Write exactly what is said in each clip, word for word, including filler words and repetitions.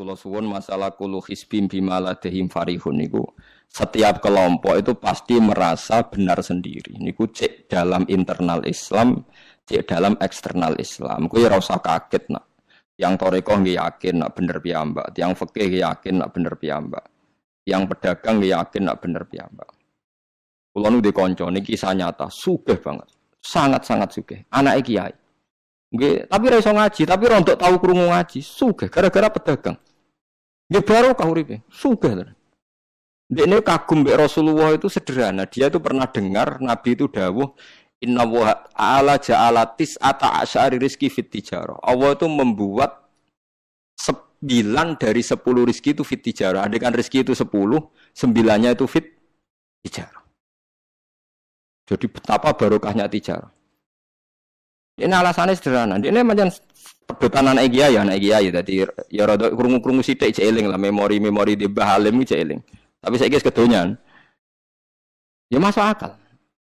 Kula suwun masalah kulu hisbim bima ladehim farihun niku setiap kelompok itu pasti merasa benar sendiri. Niku cek dalam internal Islam, cek dalam eksternal Islam. Kuwi ora usah kaget nak. Yang toreko nggih yakin nak bener piyambak, yang fikih yakin nak bener piyambak. Yang pedagang nggih yakin nak bener piyambak. Kula nu di kanca niki kisah nyata, sugih banget. Sangat-sangat sugih. Anake kiai. Nggih, tapi ora iso ngaji, tapi ora untuk tahu krungu ngaji, sugih gara-gara pedagang. Nggih barokah uripe, sugih tenan. Dekne kagum mbek Rasulullah itu sederhana, dia itu pernah dengar Nabi itu dawuh inna wa ta'ala ja'ala tis'ata asyari rizki fit tijarah. Allah itu membuat sembilan dari sepuluh rizki itu fit tijarah. Andaikan rizki itu sepuluh, sembilannya itu fit tijarah. Jadi betapa barokahnya tijarah. Ini alasannya sederhana. Ini macam pedotan anak kiai, anak kiai. Jadi ya rada krungu-krungu sithik cek eling lah memori-memori di Mbah Halim cek eling. Tapi saiki wis kedonyan. Ya masuk akal.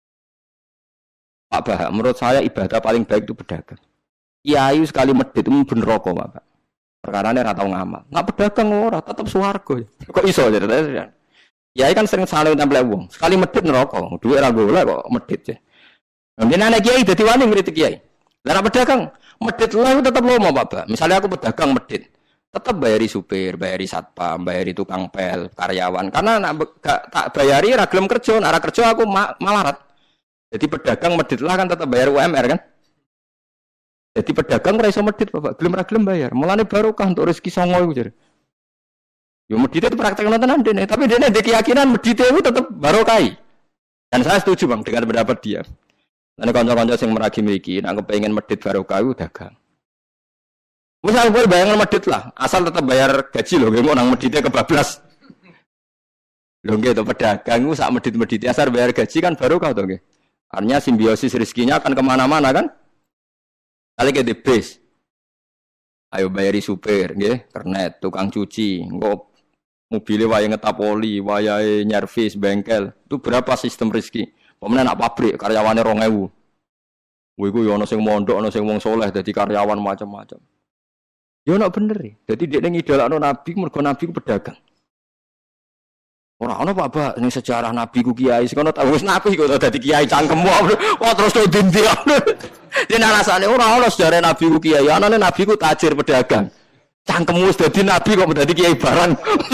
Pak Bah, menurut saya ibadah paling baik itu pedagang. Kiai sekali medhit itu ben neraka, Pak. Perkarane ora tau ngamal. Nggak pedagang ora, tetep swarga. Kok iso ya? Kiai kan sering saling tempel wong. Sekali medhit neraka. Duwe ora golek kok medhit ya. Mungkin anak kiai dadi wani ngritik kiai. Lah pedagang medhit lah tetep lomo, Pak Bah. Misalnya aku pedagang medhit, tetep bayari supir, bayari satpam, bayari tukang pel, karyawan. Karena nak gak tak bayari ra gelem kerja, nek ra kerja aku ma malarat. Jadi pedagang medhit lah kan tetep bayar U M R kan. Jadi pedagang ora iso medhit, Bapak. Gelem ra gelem bayar. Mulane barokah untuk rezeki songo iku jare. Yo medhit itu praktekno tenan dene, tapi dene ndek keyakinan medhit itu tetep barokah. Dan saya setuju, Bang, dengan pendapat dia. Nek kanca-kanca sing meragi mriki nek kepengin medhit barokah iku dagang. Misal kowe bayangan medhit lah, asal tetap bayar gaji lho, nggih nang medhite kebablas. Lho nggih to pedagang ku sak medhit-medhite asal bayar gaji kan barokah to nggih. Artinya simbiosis rezekinya akan kemana-mana kan? Kali ke the base. Ayo bayari supir nggih, kernet, tukang cuci, engko mobile wae ngetap oli, wayahe nyervis bengkel. Itu berapa sistem rezeki? Pemene nak pabrik karyawane rong ewu. Kuwi ku yo ana sing mondok, ana sing wong saleh dadi karyawan macam-macam. Yo nak bener e. Dadi dekne ngidolakno nabi mergo nabi ku pedagang. Ora ana Pak Ba ning sejarah nabi ku kiai, sing ana tau wis nabi kok dadi kiai cangkemmu. Wah terus to dindi. Dene alasane ora ana sejarah nabi ku kiai, anane nabi ku tajir pedagang. Cangkemmu wis dadi nabi kok dadi kiai barang.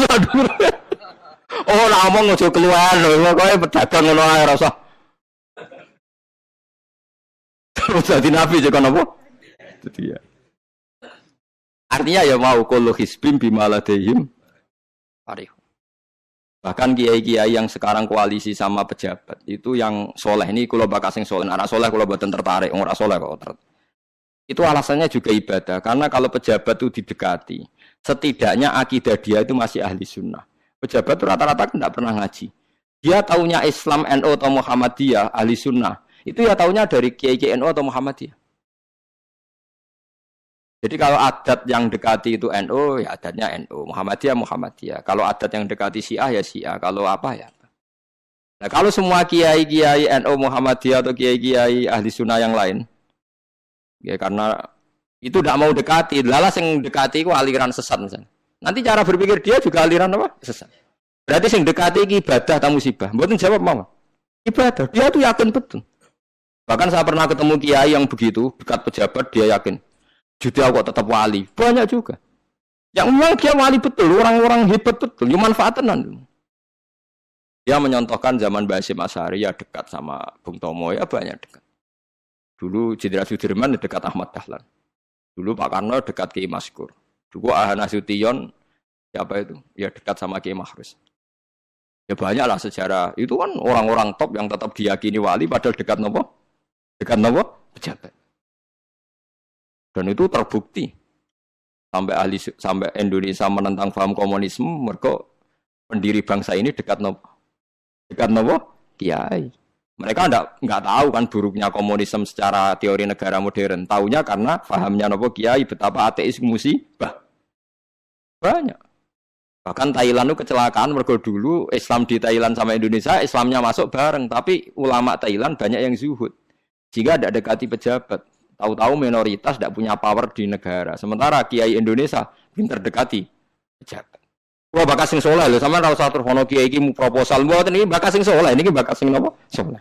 Oh, ora omong aja keluar lho, pokoke pedagang ngono ae ora usah. Terus jadi nabi juga nopo? Jadi ya. Artinya ya mau kullu hisbim bimaladehim arif. Bahkan kiai-kiai yang sekarang koalisi sama pejabat itu yang soleh ini kula bakal sing soleh, anak soleh kula boten tertarik, ora soleh kok. Itu alasannya juga ibadah karena kalau pejabat itu didekati, setidaknya akidah dia itu masih ahli sunnah. Pejabat itu rata-rata tidak pernah ngaji. Dia taunya Islam N U atau Muhammadiyah ahli sunnah. Itu ya taunya dari Kiai N U atau Muhammadiyah. Jadi kalau adat yang dekati itu N U, ya adatnya N U. Muhammadiyah, Muhammadiyah. Kalau adat yang dekati Syiah, ya Syiah. Kalau apa, ya apa. Nah kalau semua Kiai-Kiai N U, Muhammadiyah atau Kiai-Kiai ahli sunnah yang lain, ya karena itu tidak mau dekati. Lalas yang dekati itu aliran sesat misalnya. Nanti cara berpikir dia juga aliran apa? Sesat. Berarti yang dekati ibadah atau musibah. Mboten jawab mama. Ibadah. Dia tuh yakin betul. Bahkan saya pernah ketemu kiai yang begitu, dekat pejabat, dia yakin. Jadi aku tetap wali. Banyak juga. Yang memang dia wali betul, orang-orang hebat betul, yang manfaatan. Dia menyontohkan zaman Basim Asy'ari ya dekat sama Bung Tomo, ya banyak dekat. Dulu Jenderal Sudirman dekat Ahmad Dahlan. Dulu Pak Karno dekat Kiai Maskur. Dulu Ahana Sution, siapa itu? Ya dekat sama Kiai Mahrus. Ya banyaklah sejarah. Itu kan orang-orang top yang tetap diyakini wali, padahal dekat nopo? Dekat nopo? Pejabat. Dan itu terbukti sampai ahli sampai Indonesia menentang paham komunisme, mereka pendiri bangsa ini dekat nopo? Dekat nopo? Kiai. Mereka enggak enggak tahu kan buruknya komunisme secara teori negara modern. Taunya karena pahamnya nopo Kiai betapa ateis musibah. Banyak. Bahkan Thailand itu kecelakaan mergo dulu Islam di Thailand sama Indonesia, Islamnya masuk bareng, tapi ulama Thailand banyak yang zuhud. Jika tidak dekati pejabat, tahu-tahu minoritas tidak punya power di negara. Sementara Kiai Indonesia pinter dekati pejabat. Wah bakas sing soleh lho, sampean ora usah terfono kiai iki mu proposal mboten iki bakas sing soleh, niki bakas sing napa? Soleh.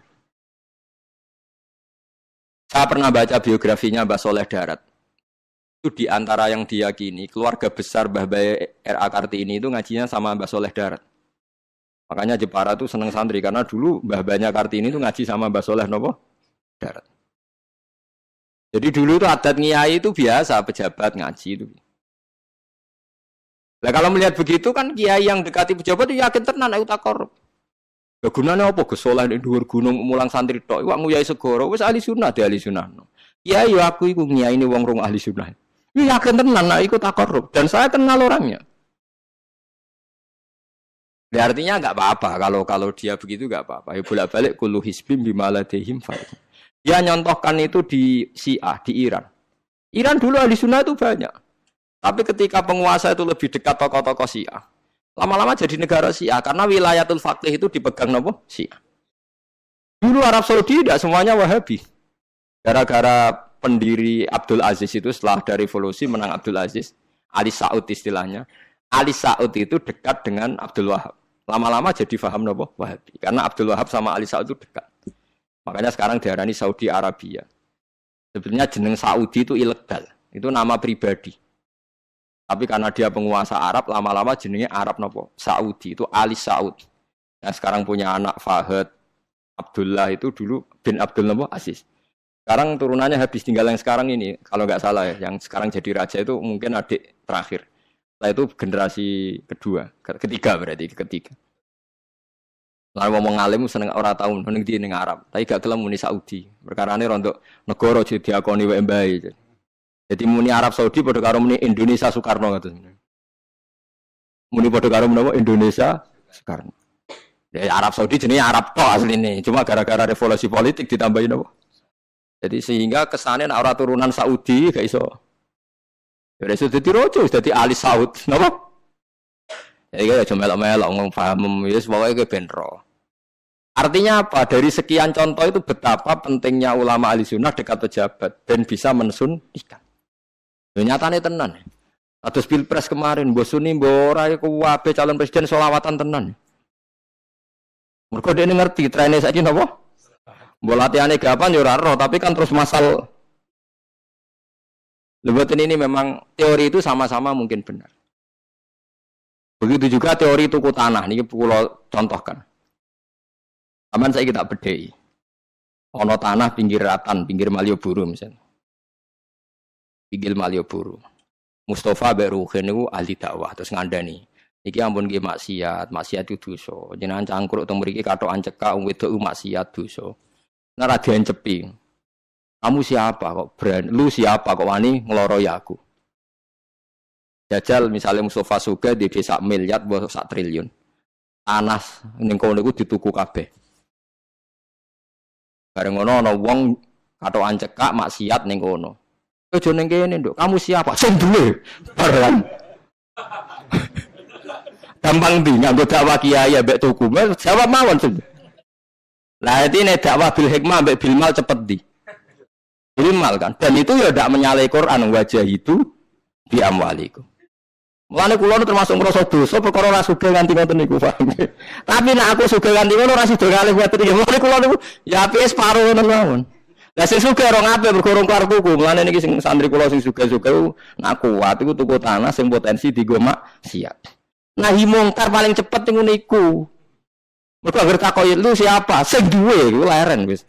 Saya pernah baca biografinya Mbah Soleh Darat. Itu di antara yang diyakini keluarga besar Mbah Bae R A Kartini itu ngajinya sama Mbah Soleh Darat. Makanya Jepara tuh seneng santri karena dulu Mbah Banya Kartini itu ngaji sama Mbah Soleh napa? Darat. Jadi dulu itu adat ngiyai itu biasa pejabat ngaji itu. Nah kalau melihat begitu kan kiai yang dekati pejabat itu yakin tenan aku tak korup. Lah gunane apa Gus Soleh ning dhuwur gunung mulang santri tok iwak nguyai segoro wis ahli sunnah di ahli sunnah. Ya yo aku iku ngiyaine wong rong ahli sunnah. Ya yakin tenan nek iku tak korup dan saya kenal orangnya. Ya artinya enggak apa-apa kalau kalau dia begitu enggak apa-apa. Ya bolak-balik kullu hisbim bima ladehim fa. Dia nyontohkan itu di Syiah di Iran. Iran dulu ahli sunnah itu banyak. Tapi ketika penguasa itu lebih dekat tokoh-tokoh Syiah, lama-lama jadi negara Syiah karena wilayatul faqih itu dipegang nopo Syiah. Dulu Arab Saudi tidak semuanya Wahabi. Gara-gara pendiri Abdul Aziz itu setelah dari revolusi menang Abdul Aziz, Ali Saud istilahnya. Ali Saud itu dekat dengan Abdul Wahab. Lama-lama jadi faham nopo Wahabi karena Abdul Wahab sama Ali Saud itu dekat. Makanya sekarang diarani Saudi Arabia. Sebenarnya jeneng Saudi itu ilegal. Itu nama pribadi. Tapi karena dia penguasa Arab, lama-lama jenenge Arab nopo? Saudi, itu Ali Saud. Yang sekarang punya anak Fahad, Abdullah itu dulu bin Abdul nopo? Aziz. Sekarang turunannya habis tinggal yang sekarang ini, kalau nggak salah ya, yang sekarang jadi raja itu mungkin adik terakhir. Setelah itu generasi kedua, ketiga berarti, ketiga. Lalu ngomong alim seneng ora tahun, ning di ning Arab, tapi gak gelem muni Saudi. Perkarane rontok negara jadi diakoni wae mbae. Jadi muni Arab Saudi pada karo muni Indonesia Soekarno gitu. Muni pada karo menapa Indonesia Soekarno. Ya Arab Saudi jenenge Arab tok asline, cuma gara-gara revolusi politik ditambahin apa. Jadi sehingga kesane nek ora turunan Saudi gak iso. Ya wis dadi rojo, dadi Ali Saud, napa? Ya iki aja melok-melok ngomong paham wis pokoke ke benro. Artinya apa? Dari sekian contoh itu betapa pentingnya ulama ahli sunnah dekat pejabat dan bisa mensunnikan. Ya nyatane tenan. Atus pilpres kemarin mbok suni mbok ora iku wae calon presiden selawatan tenan. Mergo dene ngerti trene saiki napa? Mbok latihane gapan ya ora roh, tapi kan terus masal. Lebatin ini memang teori itu sama-sama mungkin benar. Begitu juga teori tuku tanah niki kula contohkan. Aman saya kita bedhei. Ono tanah pinggir Ratan, pinggir Malioboro misalnya. Pinggir Malioboro. Mustafa Beruhin niku ahli dakwah terus ngandani. Iki ampun nggih maksiat, maksiat itu dosa. Jenengan cangkruk teng mriki katokan cekak wong wedok maksiat dosa. Nek ra diencepi. Kamu siapa kok berani? Lu siapa kok wani ngloroi aku? Jajal misalnya Mustafa Suga di desa miliar mbok sak triliun. Tanah ning kono niku dituku kabeh. Bareng ngono ana wong katokan cekak maksiat ning kono. Aja ning kene, Nduk. Kamu siapa? Sing duwe. Bareng. Gampang ndi nganggo dakwah kiai mbek tuku. Jawab mawon sing. Lah iki nek dakwah bil hikmah mbek bil mal cepet ndi? Bil mal kan. Dan itu ya ndak menyalahi Quran wajah itu di amwaliku. Mulane kula termasuk ngrasa dosa perkara ora sugih nganti ngoten niku, paham. Tapi nek aku sugih nganti ngono ora sida kalih ngoten iki. Mulane kula niku ya apike separo ngoten mawon. Lah sing sugih ora ngape bergorong karo tuku. Mulane niki sing santri kula sing sugih-sugih nak kuat iku tuku tanah sing potensi digo maksiat. Nahi mungkar paling cepet ngono iku. Mergo anggere takoki lu siapa? Sing duwe iku leren wis.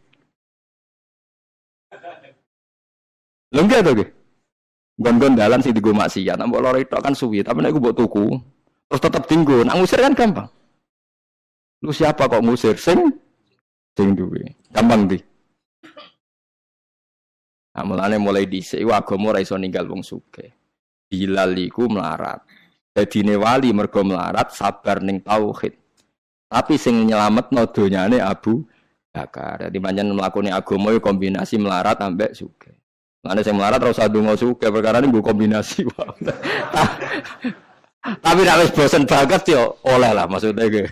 Lha nggih to nggih. Gon-gon dalan sing digo maksiat, mbok loro tok kan suwi, tapi nek mbok tuku terus tetep dinggo, nak ngusir kan gampang. Lu siapa kok ngusir sing sing duwe? Gampang ndi? Nah, mulane mulai dhisik iku agama ora iso ninggal wong sugih. Bilal iku melarat. Dadine wali mergo melarat sabar ning tauhid. Tapi sing nyelametno donyane Abu Bakar. Dadi pancen mlakune agama iku kombinasi melarat ambek sugih. Ana sing melarat ora usah ndonga sugih perkara ini nggo kombinasi wae. Tapi nek wis bosen banget yo oleh lah maksudnya iki.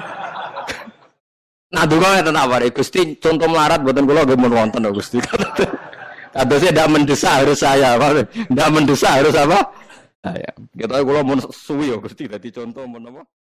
Nah donga ngeten apa Gusti contoh melarat mboten kula nggih mun wonten Gusti. Kadosnya ndak mendesak harus saya, apa? Ndak mendesak harus apa? Nah, ya. Kita kalau mau suwi ya Gusti dadi contoh mau apa?